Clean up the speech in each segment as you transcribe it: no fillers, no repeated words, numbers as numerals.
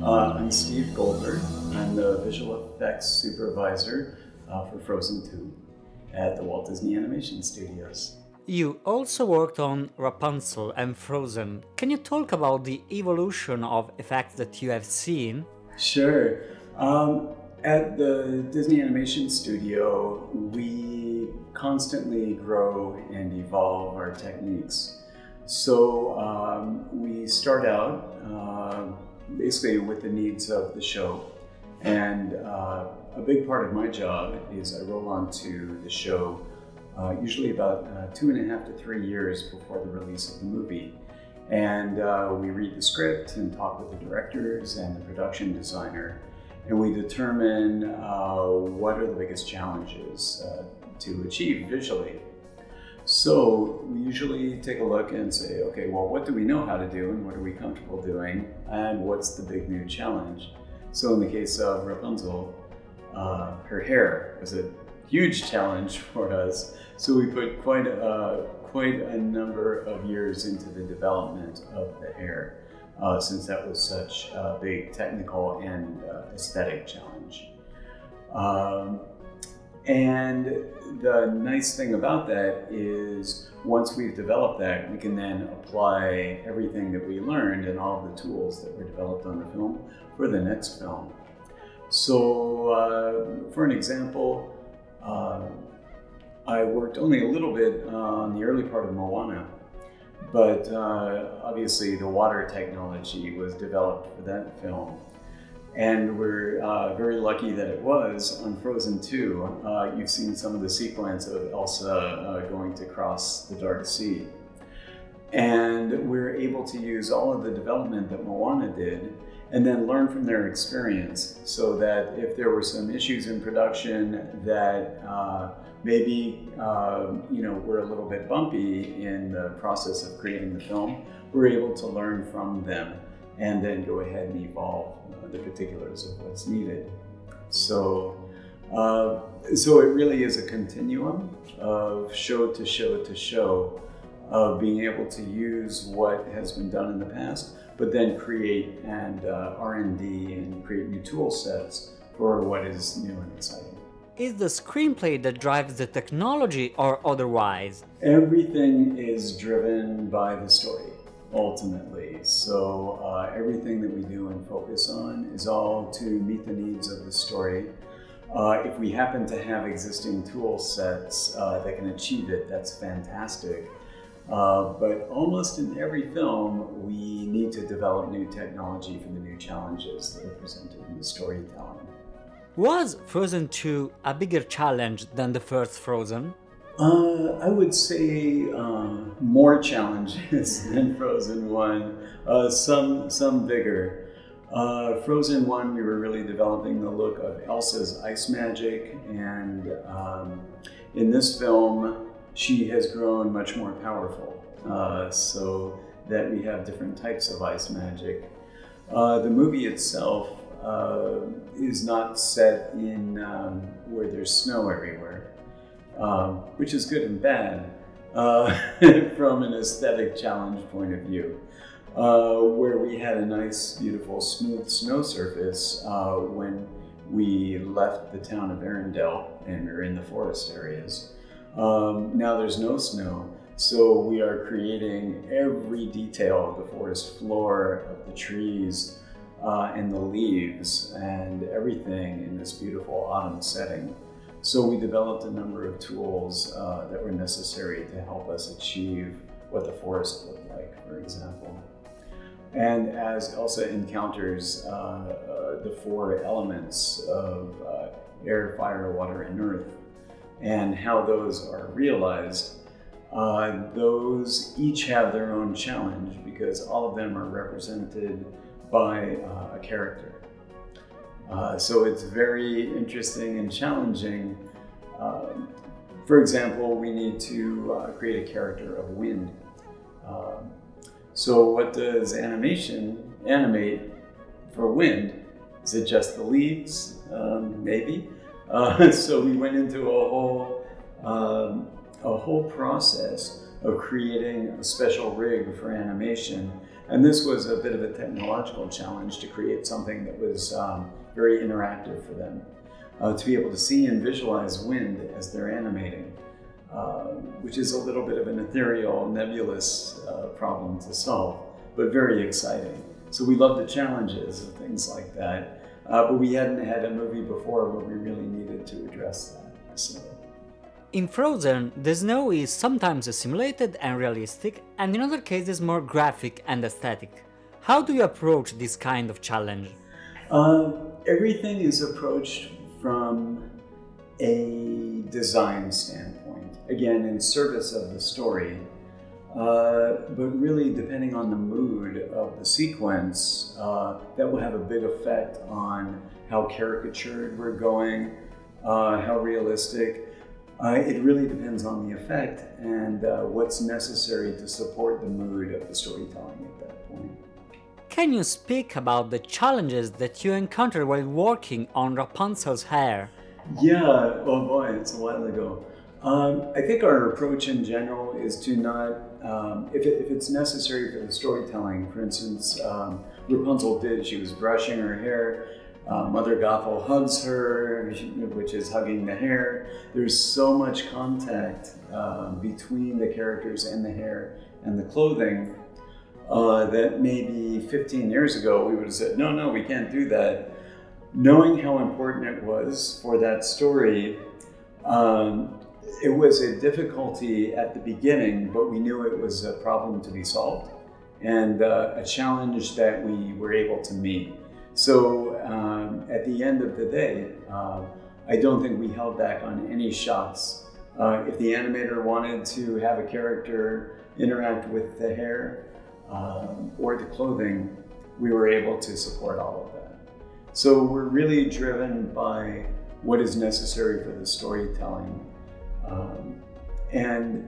I'm Steve Goldberg. I'm the visual effects supervisor for Frozen 2 at the Walt Disney Animation Studios. You also worked on Rapunzel and Frozen. Can you talk about the evolution of effects that you have seen? Sure. At the Disney Animation Studio, we constantly grow and evolve our techniques. So we start out basically with the needs of the show. And a big part of my job is I roll onto the show usually about 2.5 to 3 years before the release of the movie. And we read the script and talk with the directors and the production designer, and we determine what are the biggest challenges to achieve visually. So we usually take a look and say, okay, well, what do we know how to do and what are we comfortable doing and what's the big new challenge? So in the case of Rapunzel, her hair was a huge challenge for us. So we put quite a number of years into the development of the hair, since that was such a big technical and aesthetic challenge. And the nice thing about that is once we've developed that, we can then apply everything that we learned and all of the tools that were developed on the film for the next film. So for an example, I worked only a little bit on the early part of Moana, but obviously the water technology was developed for that film. And we're very lucky that it was on Frozen 2. You've seen some of the sequence of Elsa going to cross the Dark Sea. And we're able to use all of the development that Moana did and then learn from their experience, so that if there were some issues in production that maybe were a little bit bumpy in the process of creating the film, we're able to learn from them and then go ahead and evolve the particulars of what's needed. So it really is a continuum of show to show to show, of being able to use what has been done in the past, but then create and R&D and create new tool sets for what is new and exciting. Is the screenplay that drives the technology or otherwise? Everything is driven by the story, ultimately. So everything that we do and focus on is all to meet the needs of the story. If we happen to have existing tool sets that can achieve it, that's fantastic. But almost in every film, we need to develop new technology for the new challenges that are presented in the storytelling. Was Frozen 2 a bigger challenge than the first Frozen? I would say more challenges than Frozen 1, some bigger. Frozen 1, we were really developing the look of Elsa's ice magic, and in this film, she has grown much more powerful, so that we have different types of ice magic. The movie itself is not set in where there's snow everywhere, which is good and bad from an aesthetic challenge point of view. Where we had a nice, beautiful, smooth snow surface when we left the town of Arendelle and we were in the forest areas. Now there's no snow, so we are creating every detail of the forest floor, of the trees, and the leaves, and everything in this beautiful autumn setting. So we developed a number of tools that were necessary to help us achieve what the forest looked like, for example. And as Elsa encounters the 4 elements of air, fire, water, and earth, and how those are realized, those each have their own challenge because all of them are represented by a character. So it's very interesting and challenging. For example, we need to create a character of wind. So what does animation animate for wind? Is it just the leaves? Maybe. So we went into a whole process of creating a special rig for animation And this was a bit of a technological challenge to create something that was very interactive for them, to be able to see and visualize wind as they're animating, which is a little bit of an ethereal, nebulous problem to solve, but very exciting. So we love the challenges of things like that, but we hadn't had a movie before where we really needed to address that. So. In Frozen, the snow is sometimes simulated and realistic, and in other cases more graphic and aesthetic. How do you approach this kind of challenge? Everything is approached from a design standpoint, again in service of the story, but really depending on the mood of the sequence, that will have a big effect on how caricatured we're going, how realistic. It really depends on the effect and what's necessary to support the mood of the storytelling at that point. Can you speak about the challenges that you encountered while working on Rapunzel's hair? Yeah, oh boy, it's a while ago. I think our approach in general is to not, if it's necessary for the storytelling, for instance, Rapunzel she was brushing her hair, Mother Gothel hugs her, which is hugging the hair. There's so much contact between the characters and the hair and the clothing that maybe 15 years ago we would have said, no, we can't do that. Knowing how important it was for that story, it was a difficulty at the beginning, but we knew it was a problem to be solved and a challenge that we were able to meet. So at the end of the day, I don't think we held back on any shots. If the animator wanted to have a character interact with the hair or the clothing, we were able to support all of that. So we're really driven by what is necessary for the storytelling. And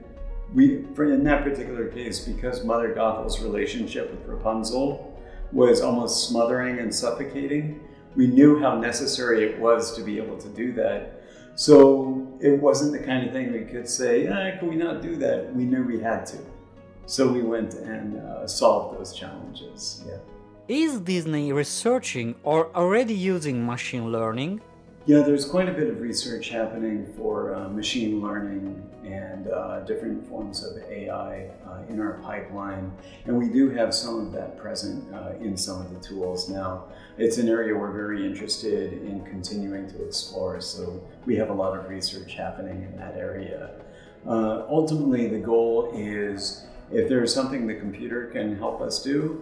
in that particular case, because Mother Gothel's relationship with Rapunzel was almost smothering and suffocating, we knew how necessary it was to be able to do that. So it wasn't the kind of thing we could say, can we not do that? We knew we had to. So we went and solved those challenges. Yeah. Is Disney researching or already using machine learning? Yeah, there's quite a bit of research happening for machine learning and different forms of AI in our pipeline. And we do have some of that present in some of the tools now. It's an area we're very interested in continuing to explore, so we have a lot of research happening in that area. Ultimately, the goal is if there's something the computer can help us do,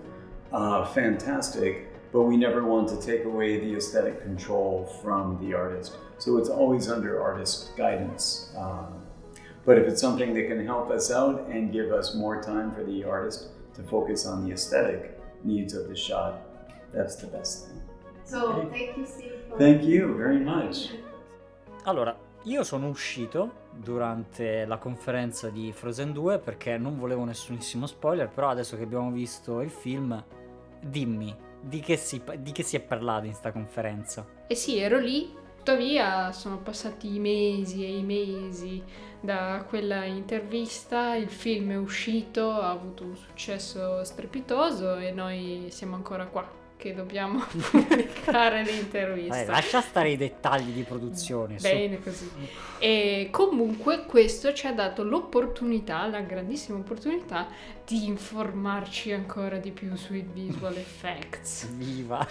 fantastic. But we never want to take away the aesthetic control from the artist. So it's always under artist guidance. But if it's something that can help us out and give us more time for the artist to focus on the aesthetic needs of the shot, that's the best thing. So, thank you, Steve. Thank you very much. Allora, io sono uscito durante la conferenza di Frozen 2 perché non volevo nessunissimo spoiler, però adesso che abbiamo visto il film, dimmi. Di che si è parlato in sta conferenza? Eh sì, ero lì, tuttavia sono passati mesi e mesi da quella intervista, il film è uscito, ha avuto un successo strepitoso e noi siamo ancora qua che dobbiamo pubblicare l'intervista. Lascia stare i dettagli di produzione. Bene così. E comunque questo ci ha dato l'opportunità, la grandissima opportunità di informarci ancora di più sui visual effects. Viva!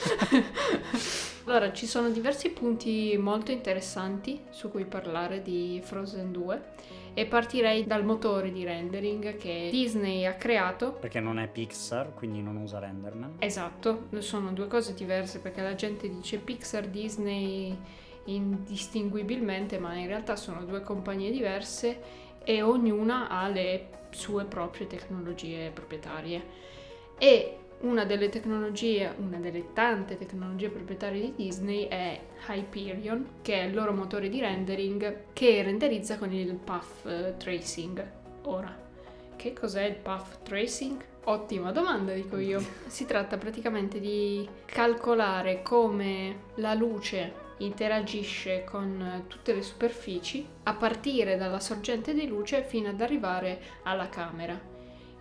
Allora, ci sono diversi punti molto interessanti su cui parlare di Frozen 2 e partirei dal motore di rendering che Disney ha creato. Perché non è Pixar, quindi non usa RenderMan. Esatto, sono due cose diverse perché la gente dice Pixar, Disney indistinguibilmente, ma in realtà sono due compagnie diverse e ognuna ha le sue proprie tecnologie proprietarie. E una delle tante tecnologie proprietarie di Disney è Hyperion, che è il loro motore di rendering che renderizza con il path tracing. Ora, che cos'è il path tracing? Ottima domanda, dico io. Si tratta praticamente di calcolare come la luce interagisce con tutte le superfici a partire dalla sorgente di luce fino ad arrivare alla camera.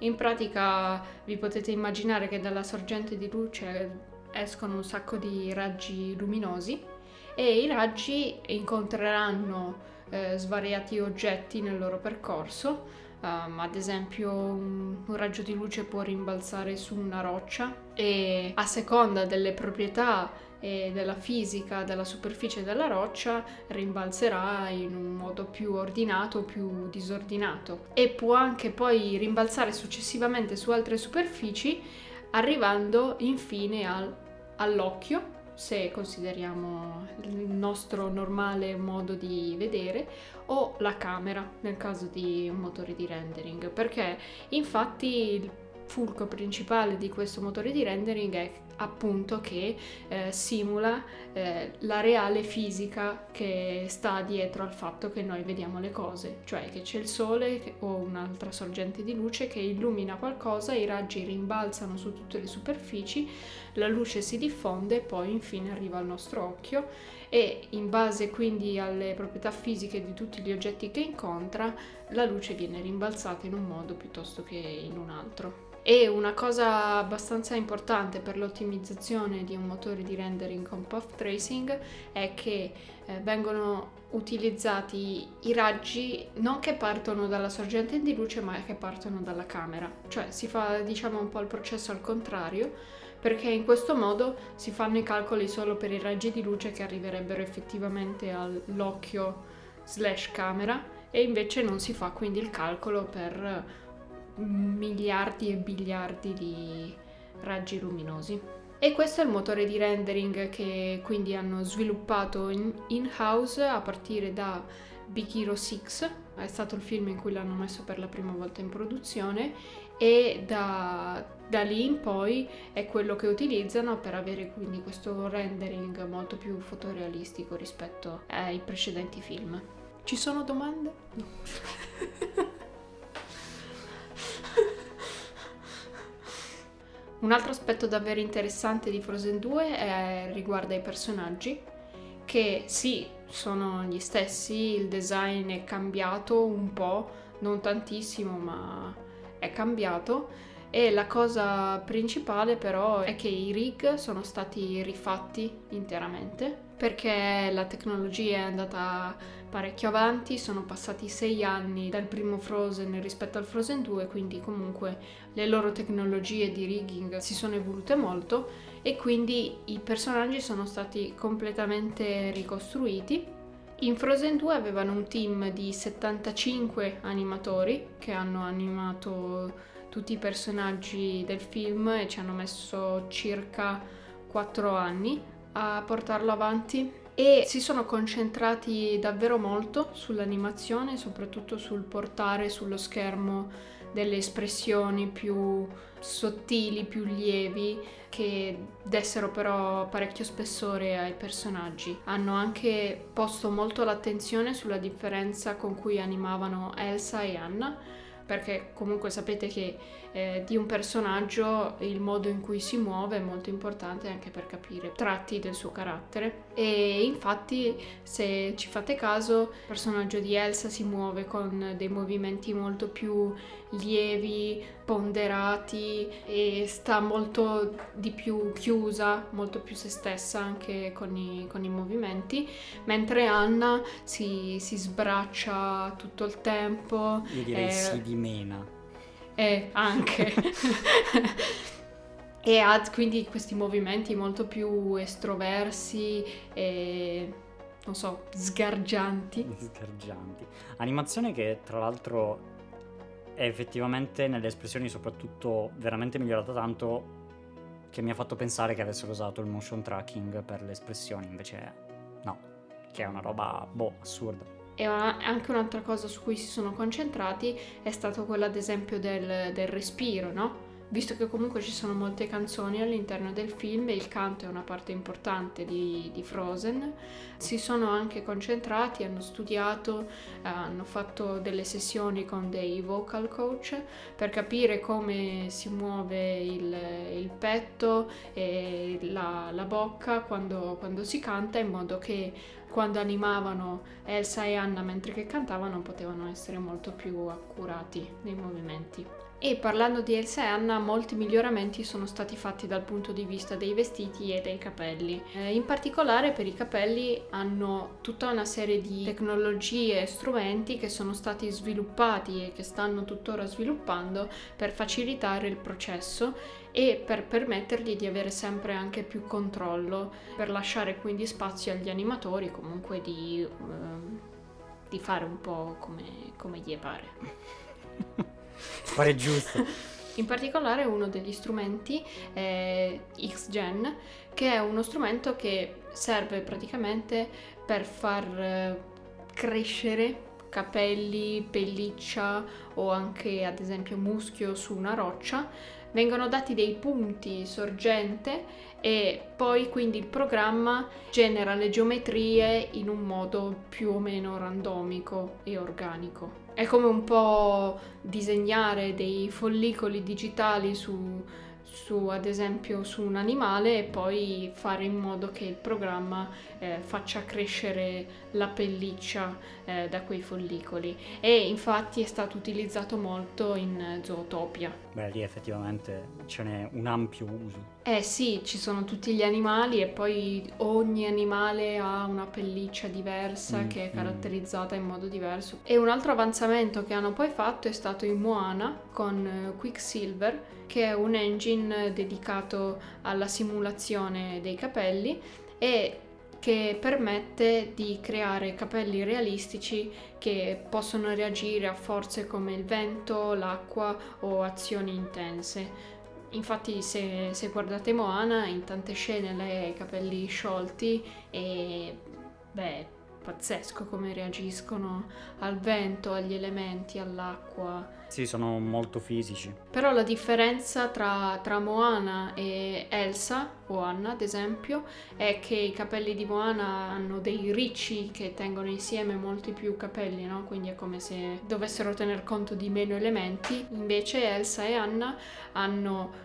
In pratica vi potete immaginare che dalla sorgente di luce escono un sacco di raggi luminosi e i raggi incontreranno svariati oggetti nel loro percorso. Ad esempio un raggio di luce può rimbalzare su una roccia e a seconda delle proprietà e della fisica della superficie della roccia rimbalzerà in un modo più ordinato o più disordinato, e può anche poi rimbalzare successivamente su altre superfici, arrivando infine all'occhio, se consideriamo il nostro normale modo di vedere, o la camera nel caso di un motore di rendering, perché infatti il fulcro principale di questo motore di rendering è appunto che simula la reale fisica che sta dietro al fatto che noi vediamo le cose, cioè che c'è il sole o un'altra sorgente di luce che illumina qualcosa, i raggi rimbalzano su tutte le superfici, la luce si diffonde e poi infine arriva al nostro occhio, e in base quindi alle proprietà fisiche di tutti gli oggetti che incontra, la luce viene rimbalzata in un modo piuttosto che in un altro. E una cosa abbastanza importante per l'ottimizzazione di un motore di rendering con path tracing è che vengono utilizzati i raggi non che partono dalla sorgente di luce, ma che partono dalla camera. Cioè si fa, diciamo, un po' il processo al contrario, perché in questo modo si fanno i calcoli solo per i raggi di luce che arriverebbero effettivamente all'occhio / camera, e invece non si fa quindi il calcolo per miliardi e biliardi di raggi luminosi. E questo è il motore di rendering che quindi hanno sviluppato in-house a partire da Big Hero 6, è stato il film in cui l'hanno messo per la prima volta in produzione, e da lì in poi è quello che utilizzano per avere quindi questo rendering molto più fotorealistico rispetto ai precedenti film. Ci sono domande? No. Un altro aspetto davvero interessante di Frozen 2 riguarda i personaggi, che sì, sono gli stessi, il design è cambiato un po', non tantissimo, ma è cambiato, e la cosa principale però è che i rig sono stati rifatti interamente, perché la tecnologia è andata parecchio avanti, sono passati 6 anni dal primo Frozen rispetto al Frozen 2, quindi comunque le loro tecnologie di rigging si sono evolute molto e quindi i personaggi sono stati completamente ricostruiti. In Frozen 2 avevano un team di 75 animatori che hanno animato tutti i personaggi del film e ci hanno messo circa 4 anni a portarlo avanti, e si sono concentrati davvero molto sull'animazione, soprattutto sul portare sullo schermo delle espressioni più sottili, più lievi, che dessero però parecchio spessore ai personaggi. Hanno anche posto molto l'attenzione sulla differenza con cui animavano Elsa e Anna, perché comunque sapete che di un personaggio il modo in cui si muove è molto importante anche per capire tratti del suo carattere, e infatti se ci fate caso il personaggio di Elsa si muove con dei movimenti molto più lievi, ponderati, e sta molto di più chiusa, molto più se stessa anche con i movimenti, mentre Anna si sbraccia tutto il tempo. Io direi si dimena. Anche e ha quindi questi movimenti molto più estroversi e non so, sgargianti. Animazione che tra l'altro è effettivamente nelle espressioni soprattutto veramente migliorata tanto, che mi ha fatto pensare che avessero usato il motion tracking per le espressioni, invece no, che è una roba assurda. E anche un'altra cosa su cui si sono concentrati è stato quella ad esempio del respiro, no? Visto che comunque ci sono molte canzoni all'interno del film e il canto è una parte importante di Frozen, si sono anche concentrati, hanno studiato, hanno fatto delle sessioni con dei vocal coach per capire come si muove il petto e la bocca quando si canta, in modo che quando animavano Elsa e Anna mentre che cantavano potevano essere molto più accurati nei movimenti. E parlando di Elsa e Anna, molti miglioramenti sono stati fatti dal punto di vista dei vestiti e dei capelli. In particolare per i capelli hanno tutta una serie di tecnologie e strumenti che sono stati sviluppati e che stanno tuttora sviluppando per facilitare il processo e per permettergli di avere sempre anche più controllo, per lasciare quindi spazio agli animatori comunque di fare un po' come gli pare. Pare giusto. In particolare uno degli strumenti è X-Gen, che è uno strumento che serve praticamente per far crescere capelli, pelliccia o anche ad esempio muschio su una roccia. Vengono dati dei punti sorgente e poi quindi il programma genera le geometrie in un modo più o meno randomico e organico. È come un po' disegnare dei follicoli digitali su ad esempio su un animale e poi fare in modo che il programma faccia crescere la pelliccia da quei follicoli, e infatti è stato utilizzato molto in Zootopia. Beh, lì effettivamente ce n'è un ampio uso. Sì, ci sono tutti gli animali e poi ogni animale ha una pelliccia diversa che è caratterizzata in modo diverso. E un altro avanzamento che hanno poi fatto è stato in Moana con Quicksilver, che è un engine dedicato alla simulazione dei capelli e che permette di creare capelli realistici che possono reagire a forze come il vento, l'acqua o azioni intense. Infatti se guardate Moana, in tante scene lei ha i capelli sciolti e pazzesco come reagiscono al vento, agli elementi, all'acqua. Sì, sono molto fisici. Però la differenza tra Moana e Elsa, o Anna ad esempio, è che i capelli di Moana hanno dei ricci che tengono insieme molti più capelli, no? Quindi è come se dovessero tener conto di meno elementi. Invece Elsa e Anna hanno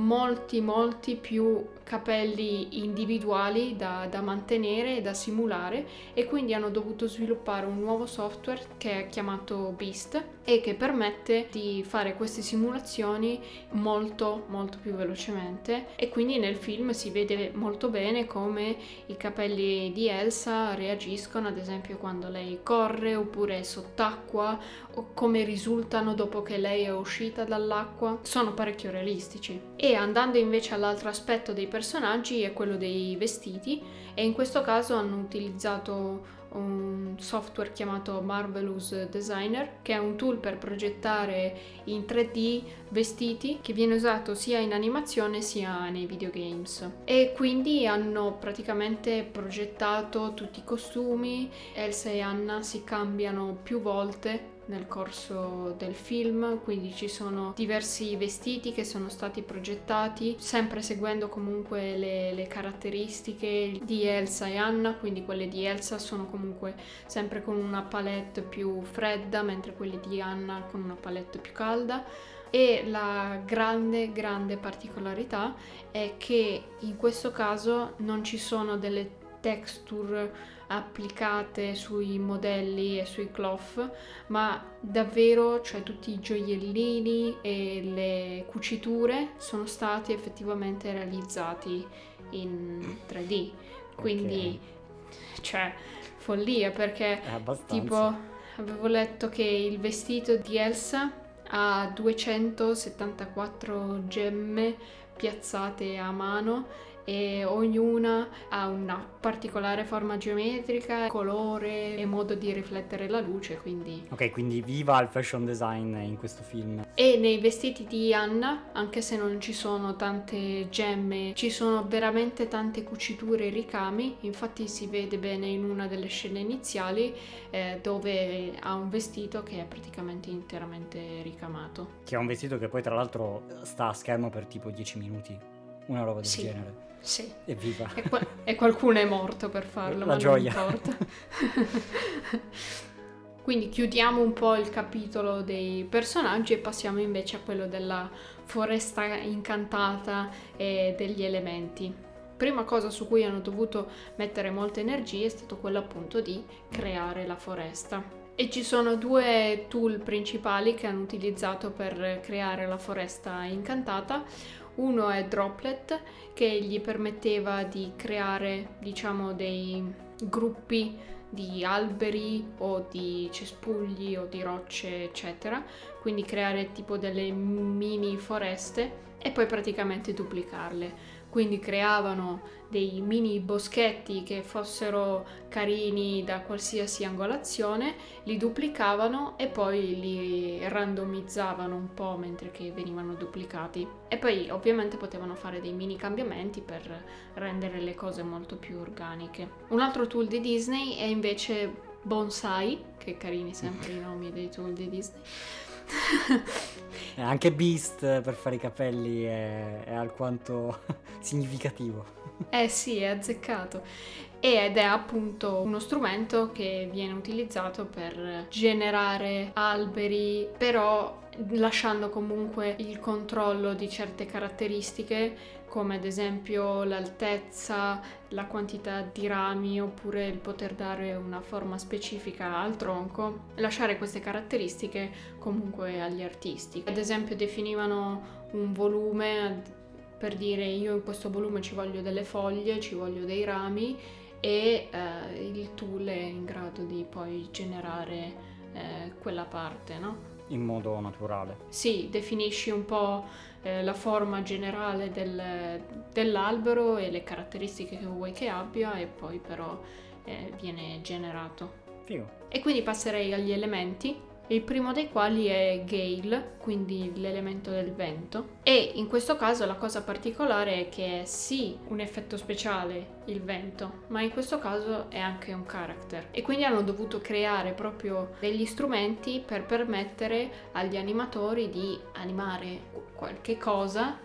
molti più capelli individuali da mantenere e da simulare, e quindi hanno dovuto sviluppare un nuovo software che è chiamato Beast e che permette di fare queste simulazioni molto più velocemente. E quindi nel film si vede molto bene come i capelli di Elsa reagiscono ad esempio quando lei corre oppure è sott'acqua, o come risultano dopo che lei è uscita dall'acqua. Sono parecchio realistici. E andando invece all'altro aspetto dei personaggi è quello dei vestiti, e in questo caso hanno utilizzato un software chiamato Marvelous Designer, che è un tool per progettare in 3D vestiti, che viene usato sia in animazione sia nei videogames. E quindi hanno praticamente progettato tutti i costumi. Elsa e Anna si cambiano più volte nel corso del film, quindi ci sono diversi vestiti che sono stati progettati sempre seguendo comunque le caratteristiche di Elsa e Anna. Quindi quelle di Elsa sono comunque sempre con una palette più fredda, mentre quelle di Anna con una palette più calda. E la grande particolarità è che in questo caso non ci sono delle texture applicate sui modelli e sui cloth, ma davvero, cioè tutti i gioiellini e le cuciture sono stati effettivamente realizzati in 3D. Quindi cioè follia, perché tipo avevo letto che il vestito di Elsa ha 274 gemme piazzate a mano e ognuna ha una particolare forma geometrica, colore e modo di riflettere la luce, quindi... Ok, quindi viva il fashion design in questo film. E nei vestiti di Anna, anche se non ci sono tante gemme, ci sono veramente tante cuciture e ricami. Infatti si vede bene in una delle scene iniziali dove ha un vestito che è praticamente interamente ricamato. Che è un vestito che poi tra l'altro sta a schermo per tipo 10 minuti, una roba del genere. Sì. Evviva. E qualcuno è morto per farlo, ma gioia. non importa. Quindi chiudiamo un po' il capitolo dei personaggi e passiamo invece a quello della foresta incantata e degli elementi. Prima cosa su cui hanno dovuto mettere molte energie è stato quello appunto di creare la foresta. E ci sono due tool principali che hanno utilizzato per creare la foresta incantata. Uno è Droplet, che gli permetteva di creare, diciamo, dei gruppi di alberi o di cespugli o di rocce, eccetera, quindi creare tipo delle mini foreste e poi praticamente duplicarle. Quindi creavano dei mini boschetti che fossero carini da qualsiasi angolazione, li duplicavano e poi li randomizzavano un po' mentre che venivano duplicati. E poi ovviamente potevano fare dei mini cambiamenti per rendere le cose molto più organiche. Un altro tool di Disney è invece Bonsai, che carini sempre i nomi dei tool di Disney. Anche Beast per fare i capelli è alquanto significativo. Sì, è azzeccato. Ed è appunto uno strumento che viene utilizzato per generare alberi, però lasciando comunque il controllo di certe caratteristiche, come ad esempio l'altezza, la quantità di rami, oppure il poter dare una forma specifica al tronco, lasciare queste caratteristiche comunque agli artisti. Ad esempio definivano un volume per dire io in questo volume ci voglio delle foglie, ci voglio dei rami, e il tool è in grado di poi generare quella parte, no? In modo naturale. Sì, definisci un po' la forma generale dell'albero e le caratteristiche che vuoi che abbia, e poi però viene generato. Figo. E quindi passerei agli elementi. Il primo dei quali è Gale, quindi l'elemento del vento, e in questo caso la cosa particolare è che è sì un effetto speciale il vento, ma in questo caso è anche un character, e quindi hanno dovuto creare proprio degli strumenti per permettere agli animatori di animare qualche cosa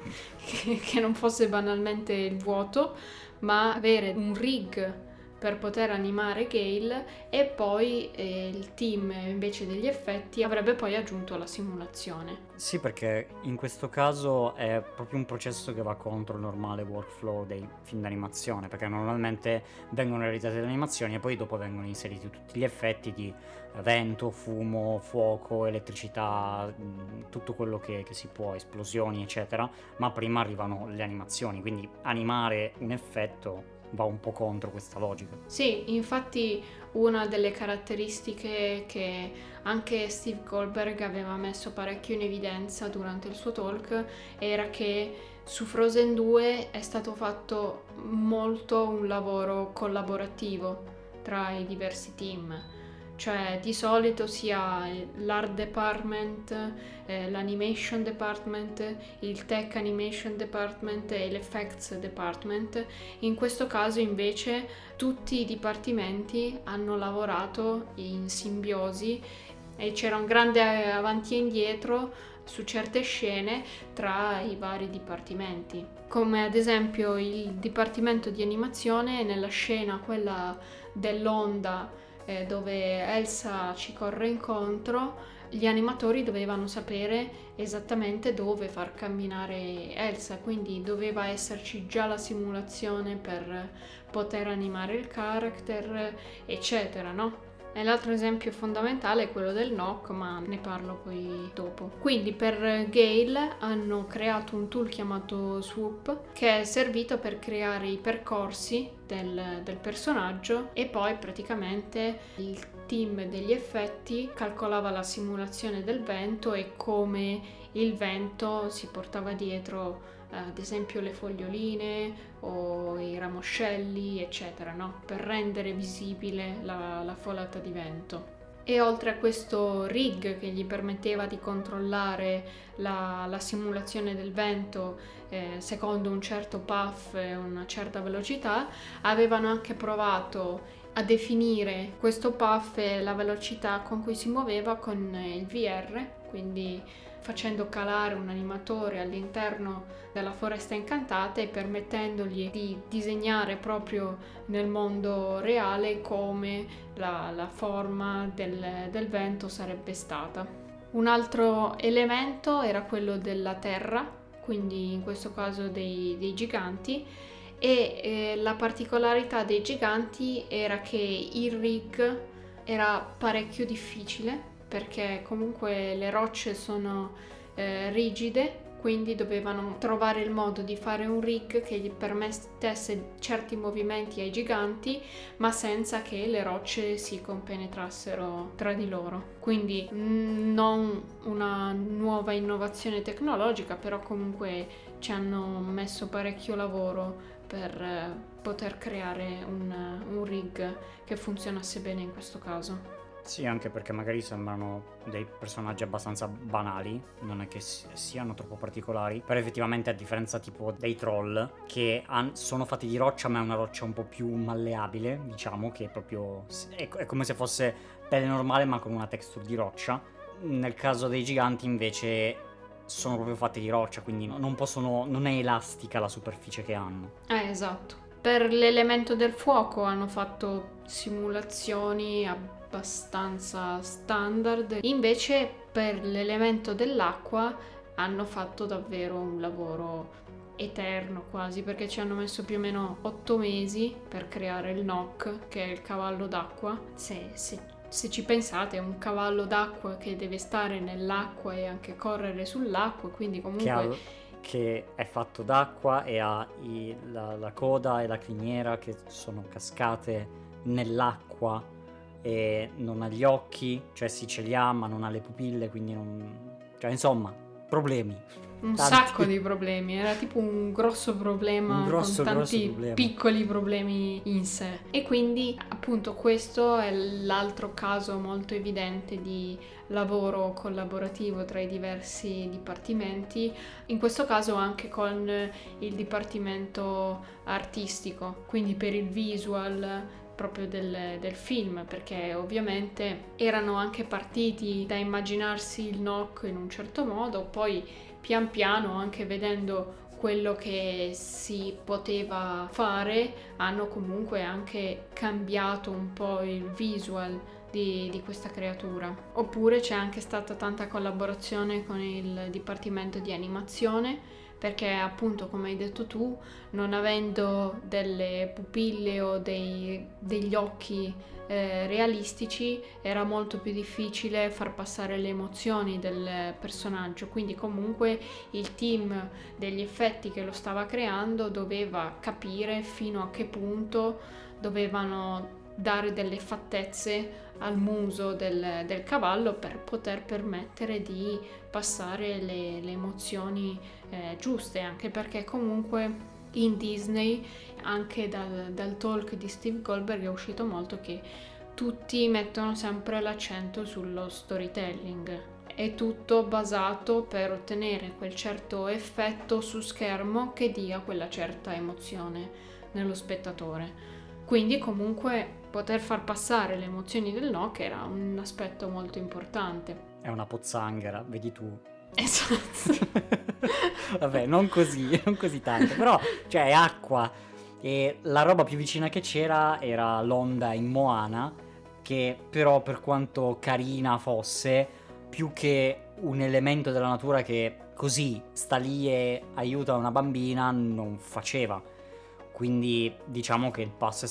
che non fosse banalmente il vuoto, ma avere un rig per poter animare Gale, e poi il team invece degli effetti avrebbe poi aggiunto la simulazione. Sì, perché in questo caso è proprio un processo che va contro il normale workflow dei film d'animazione, perché normalmente vengono realizzate le animazioni e poi dopo vengono inseriti tutti gli effetti di vento, fumo, fuoco, elettricità, tutto quello che si può, esplosioni eccetera, ma prima arrivano le animazioni, quindi animare un effetto va un po' contro questa logica. Sì, infatti una delle caratteristiche che anche Steve Goldberg aveva messo parecchio in evidenza durante il suo talk era che su Frozen 2 è stato fatto molto un lavoro collaborativo tra i diversi team. Cioè di solito sia l'art department, l'animation department, il tech animation department e l'effects department. In questo caso invece tutti i dipartimenti hanno lavorato in simbiosi e c'era un grande avanti e indietro su certe scene tra i vari dipartimenti. Come ad esempio il dipartimento di animazione nella scena quella dell'onda dove Elsa ci corre incontro, gli animatori dovevano sapere esattamente dove far camminare Elsa, quindi doveva esserci già la simulazione per poter animare il character, eccetera, no? E l'altro esempio fondamentale è quello del knock, ma ne parlo poi dopo. Quindi per Gale hanno creato un tool chiamato Swoop che è servito per creare i percorsi del personaggio, e poi praticamente il team degli effetti calcolava la simulazione del vento e come il vento si portava dietro ad esempio le foglioline o i ramoscelli eccetera, no? Per rendere visibile la folata di vento. E oltre a questo rig che gli permetteva di controllare la simulazione del vento secondo un certo path e una certa velocità, avevano anche provato a definire questo path e la velocità con cui si muoveva con il VR, quindi facendo calare un animatore all'interno della foresta incantata e permettendogli di disegnare proprio nel mondo reale come la forma del vento sarebbe stata. Un altro elemento era quello della terra, quindi in questo caso dei giganti, e la particolarità dei giganti era che il rig era parecchio difficile perché comunque le rocce sono rigide, quindi dovevano trovare il modo di fare un rig che gli permettesse certi movimenti ai giganti, ma senza che le rocce si compenetrassero tra di loro. Quindi non una nuova innovazione tecnologica, però comunque ci hanno messo parecchio lavoro per poter creare un rig che funzionasse bene in questo caso. Sì, anche perché magari sembrano dei personaggi abbastanza banali, non è che siano troppo particolari, però effettivamente a differenza tipo dei troll, che sono fatti di roccia, ma è una roccia un po' più malleabile, diciamo, che è come se fosse pelle normale ma con una texture di roccia. Nel caso dei giganti invece sono proprio fatti di roccia, quindi non è elastica la superficie che hanno. Esatto. Per l'elemento del fuoco hanno fatto simulazioni abbastanza standard, invece per l'elemento dell'acqua hanno fatto davvero un lavoro eterno quasi, perché ci hanno messo più o meno 8 mesi per creare il Nock, che è il cavallo d'acqua. Se ci pensate, è un cavallo d'acqua che deve stare nell'acqua e anche correre sull'acqua, quindi comunque che è fatto d'acqua e ha la coda e la criniera che sono cascate nell'acqua e non ha gli occhi, cioè sì ce li ha ma non ha le pupille, quindi cioè insomma, problemi. Un sacco di problemi, era tipo un grosso problema con tanti piccoli problemi in sé. E quindi appunto questo è l'altro caso molto evidente di lavoro collaborativo tra i diversi dipartimenti, in questo caso anche con il dipartimento artistico, quindi per il visual proprio del film, perché ovviamente erano anche partiti da immaginarsi il Nock in un certo modo, poi pian piano, anche vedendo quello che si poteva fare, hanno comunque anche cambiato un po' il visual di questa creatura. Oppure c'è anche stata tanta collaborazione con il dipartimento di animazione, perché appunto, come hai detto tu, non avendo delle pupille o degli occhi realistici, era molto più difficile far passare le emozioni del personaggio, quindi comunque il team degli effetti che lo stava creando doveva capire fino a che punto dovevano dare delle fattezze al muso del cavallo per poter permettere di passare le emozioni giuste, anche perché comunque in Disney, anche dal talk di Steve Goldberg, è uscito molto che tutti mettono sempre l'accento sullo storytelling. È tutto basato per ottenere quel certo effetto su schermo che dia quella certa emozione nello spettatore. Quindi comunque poter far passare le emozioni del Nock era un aspetto molto importante. È una pozzanghera, vedi tu. Esatto. Vabbè, non così tanto, però cioè è acqua e la roba più vicina che c'era era l'onda in Moana, che però per quanto carina fosse, più che un elemento della natura che così sta lì e aiuta una bambina, non faceva. Quindi diciamo che il passo è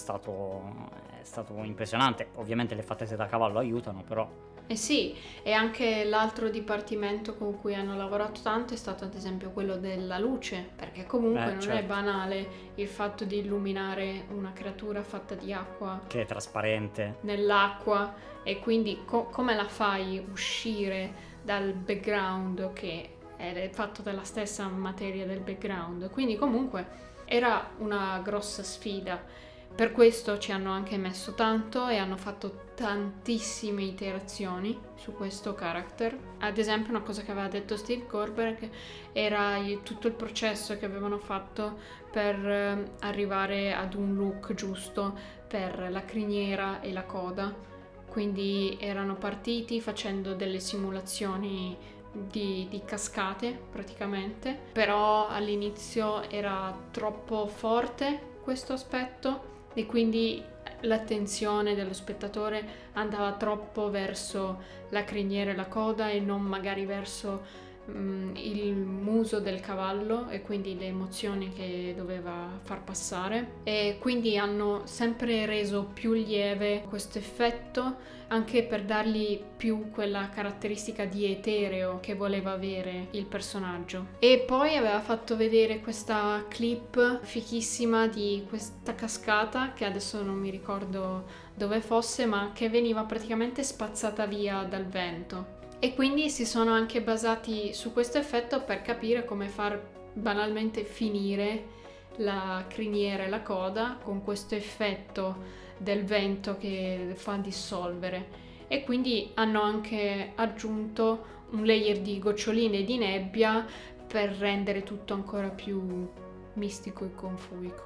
stato impressionante. Ovviamente le fattezze da cavallo aiutano, però. Eh sì, e anche l'altro dipartimento con cui hanno lavorato tanto è stato ad esempio quello della luce, perché comunque non certo. è banale il fatto di illuminare una creatura fatta di acqua Che è trasparente nell'acqua, e quindi come la fai uscire dal background che è fatto dalla stessa materia del background. Quindi comunque era una grossa sfida. Per questo ci hanno anche messo tanto e hanno fatto tantissime iterazioni su questo character. Ad esempio, una cosa che aveva detto Steve Goldberg era tutto il processo che avevano fatto per arrivare ad un look giusto per la criniera e la coda. Quindi erano partiti facendo delle simulazioni di cascate praticamente, però all'inizio era troppo forte questo aspetto e quindi l'attenzione dello spettatore andava troppo verso la criniera e la coda e non magari verso il muso del cavallo e quindi le emozioni che doveva far passare, e quindi hanno sempre reso più lieve questo effetto, anche per dargli più quella caratteristica di etereo che voleva avere il personaggio. E poi aveva fatto vedere questa clip fichissima di questa cascata, che adesso non mi ricordo dove fosse, ma che veniva praticamente spazzata via dal vento. E quindi si sono anche basati su questo effetto per capire come far banalmente finire la criniera e la coda con questo effetto del vento che fa dissolvere. E quindi hanno anche aggiunto un layer di goccioline di nebbia per rendere tutto ancora più mistico e confuico.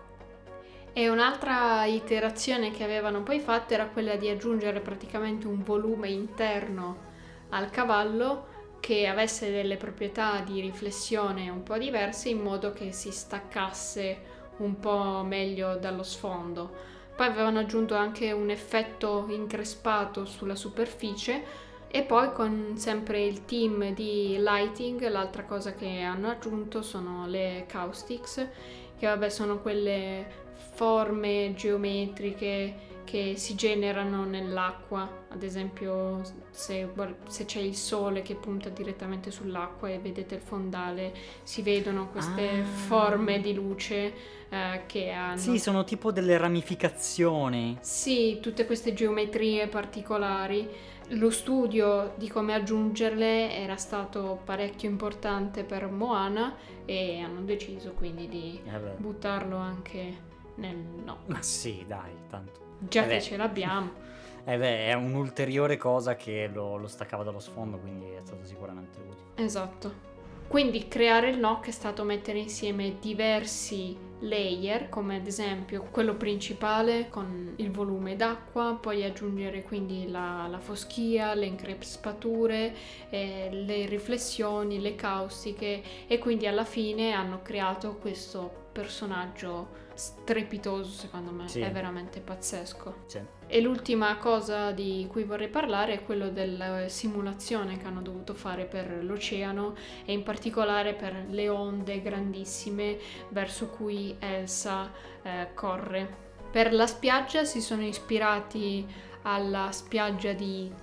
E un'altra iterazione che avevano poi fatto era quella di aggiungere praticamente un volume interno al cavallo che avesse delle proprietà di riflessione un po' diverse, in modo che si staccasse un po' meglio dallo sfondo. Poi avevano aggiunto anche un effetto increspato sulla superficie, e poi con sempre il team di lighting l'altra cosa che hanno aggiunto sono le caustics, che vabbè sono quelle forme geometriche che si generano nell'acqua. Ad esempio se c'è il sole che punta direttamente sull'acqua e vedete il fondale, si vedono queste forme di luce che hanno... Sì, sono tipo delle ramificazioni. Sì, tutte queste geometrie particolari. Lo studio di come aggiungerle era stato parecchio importante per Moana e hanno deciso quindi di buttarlo anche nel no. Ma sì, dai, tanto. Già che ce l'abbiamo. È un'ulteriore cosa che lo staccava dallo sfondo, quindi è stato sicuramente utile. Esatto. Quindi creare il NOC è stato mettere insieme diversi layer, come ad esempio quello principale con il volume d'acqua, poi aggiungere quindi la foschia, le increspature, le riflessioni, le caustiche, e quindi alla fine hanno creato questo personaggio strepitoso, secondo me. Sì. È veramente pazzesco. Sì. E l'ultima cosa di cui vorrei parlare è quello della simulazione che hanno dovuto fare per l'oceano, e in particolare per le onde grandissime verso cui Elsa corre. Per la spiaggia si sono ispirati alla spiaggia di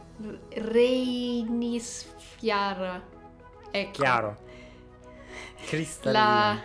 Reynisfjara. Ecco. Chiaro. Cristallino.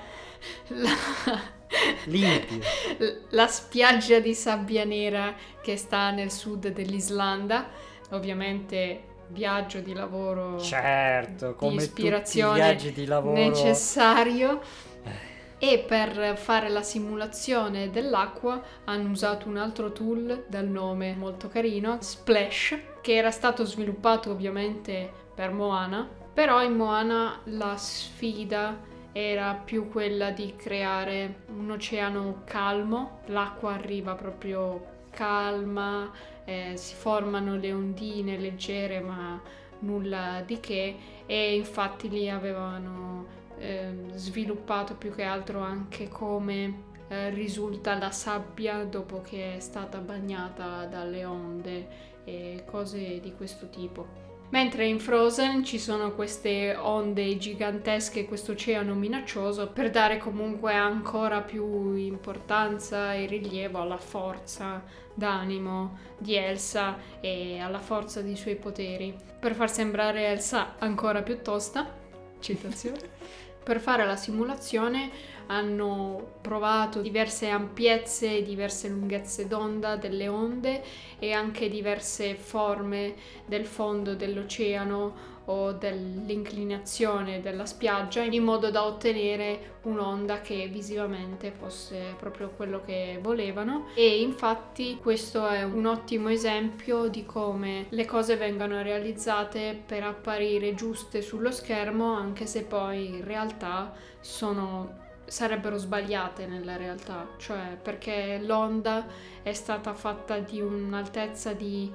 La spiaggia di sabbia nera che sta nel sud dell'Islanda, ovviamente viaggio di lavoro, certo, come di ispirazione, tutti i viaggi di lavoro necessario. E per fare la simulazione dell'acqua hanno usato un altro tool dal nome molto carino, Splash, che era stato sviluppato ovviamente per Moana, però in Moana la sfida era più quella di creare un oceano calmo. L'acqua arriva proprio calma, si formano le ondine leggere ma nulla di che, e infatti lì avevano sviluppato più che altro anche come risulta la sabbia dopo che è stata bagnata dalle onde e cose di questo tipo. Mentre in Frozen ci sono queste onde gigantesche, questo oceano minaccioso, per dare comunque ancora più importanza e rilievo alla forza d'animo di Elsa e alla forza dei suoi poteri, per far sembrare Elsa ancora più tosta. Citazione. Per fare la simulazione hanno provato diverse ampiezze, diverse lunghezze d'onda delle onde e anche diverse forme del fondo dell'oceano o dell'inclinazione della spiaggia, in modo da ottenere un'onda che visivamente fosse proprio quello che volevano. E infatti questo è un ottimo esempio di come le cose vengano realizzate per apparire giuste sullo schermo, anche se poi in realtà sarebbero sbagliate nella realtà, cioè perché l'onda è stata fatta di un'altezza di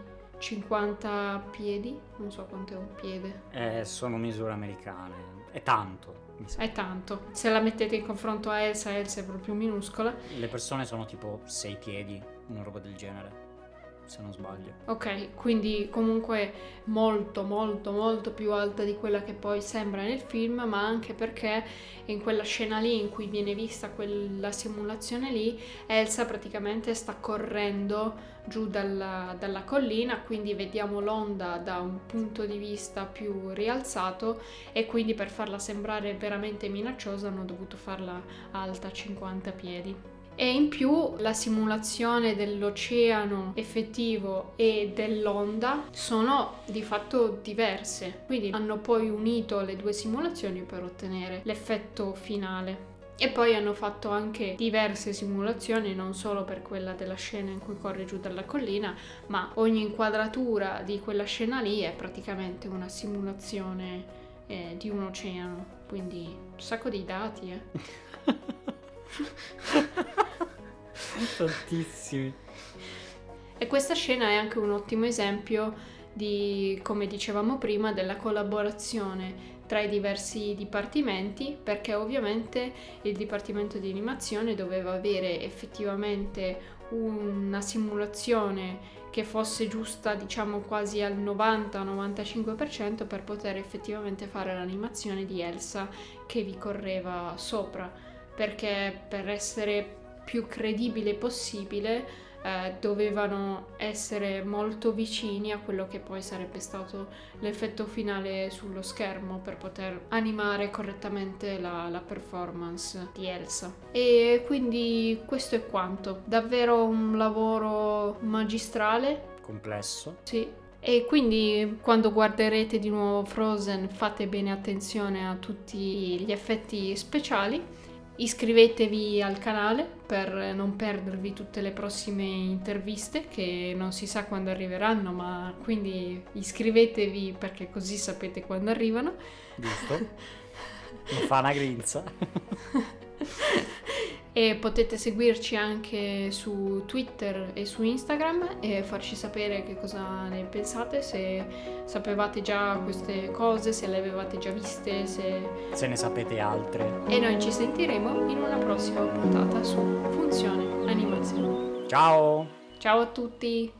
50 piedi, non so quanto è un piede. Sono misure americane, è tanto. È tanto. Se la mettete in confronto a Elsa è proprio minuscola. Le persone sono tipo 6 piedi, una roba del genere. se non sbaglio. Ok, quindi comunque molto molto molto più alta di quella che poi sembra nel film, ma anche perché in quella scena lì in cui viene vista quella simulazione lì, Elsa praticamente sta correndo giù dalla collina, quindi vediamo l'onda da un punto di vista più rialzato, e quindi per farla sembrare veramente minacciosa hanno dovuto farla alta 50 piedi. E in più la simulazione dell'oceano effettivo e dell'onda sono di fatto diverse, quindi hanno poi unito le due simulazioni per ottenere l'effetto finale. E poi hanno fatto anche diverse simulazioni, non solo per quella della scena in cui corre giù dalla collina, ma ogni inquadratura di quella scena lì è praticamente una simulazione di un oceano, quindi un sacco di dati, Tantissimi. E questa scena è anche un ottimo esempio di, come dicevamo prima, della collaborazione tra i diversi dipartimenti, perché ovviamente il dipartimento di animazione doveva avere effettivamente una simulazione che fosse giusta, diciamo quasi al 90-95%, per poter effettivamente fare l'animazione di Elsa che vi correva sopra, perché per essere più credibile possibile dovevano essere molto vicini a quello che poi sarebbe stato l'effetto finale sullo schermo per poter animare correttamente la performance di Elsa. E quindi questo è quanto. Davvero un lavoro magistrale. Complesso. Sì. E quindi quando guarderete di nuovo Frozen fate bene attenzione a tutti gli effetti speciali. Iscrivetevi al canale per non perdervi tutte le prossime interviste, che non si sa quando arriveranno, ma quindi iscrivetevi perché così sapete quando arrivano. Giusto? Mi fa una grinza. E potete seguirci anche su Twitter e su Instagram e farci sapere che cosa ne pensate, se sapevate già queste cose, se le avevate già viste, se ne sapete altre. E noi ci sentiremo in una prossima puntata su Funzione Animazione. Ciao! Ciao a tutti!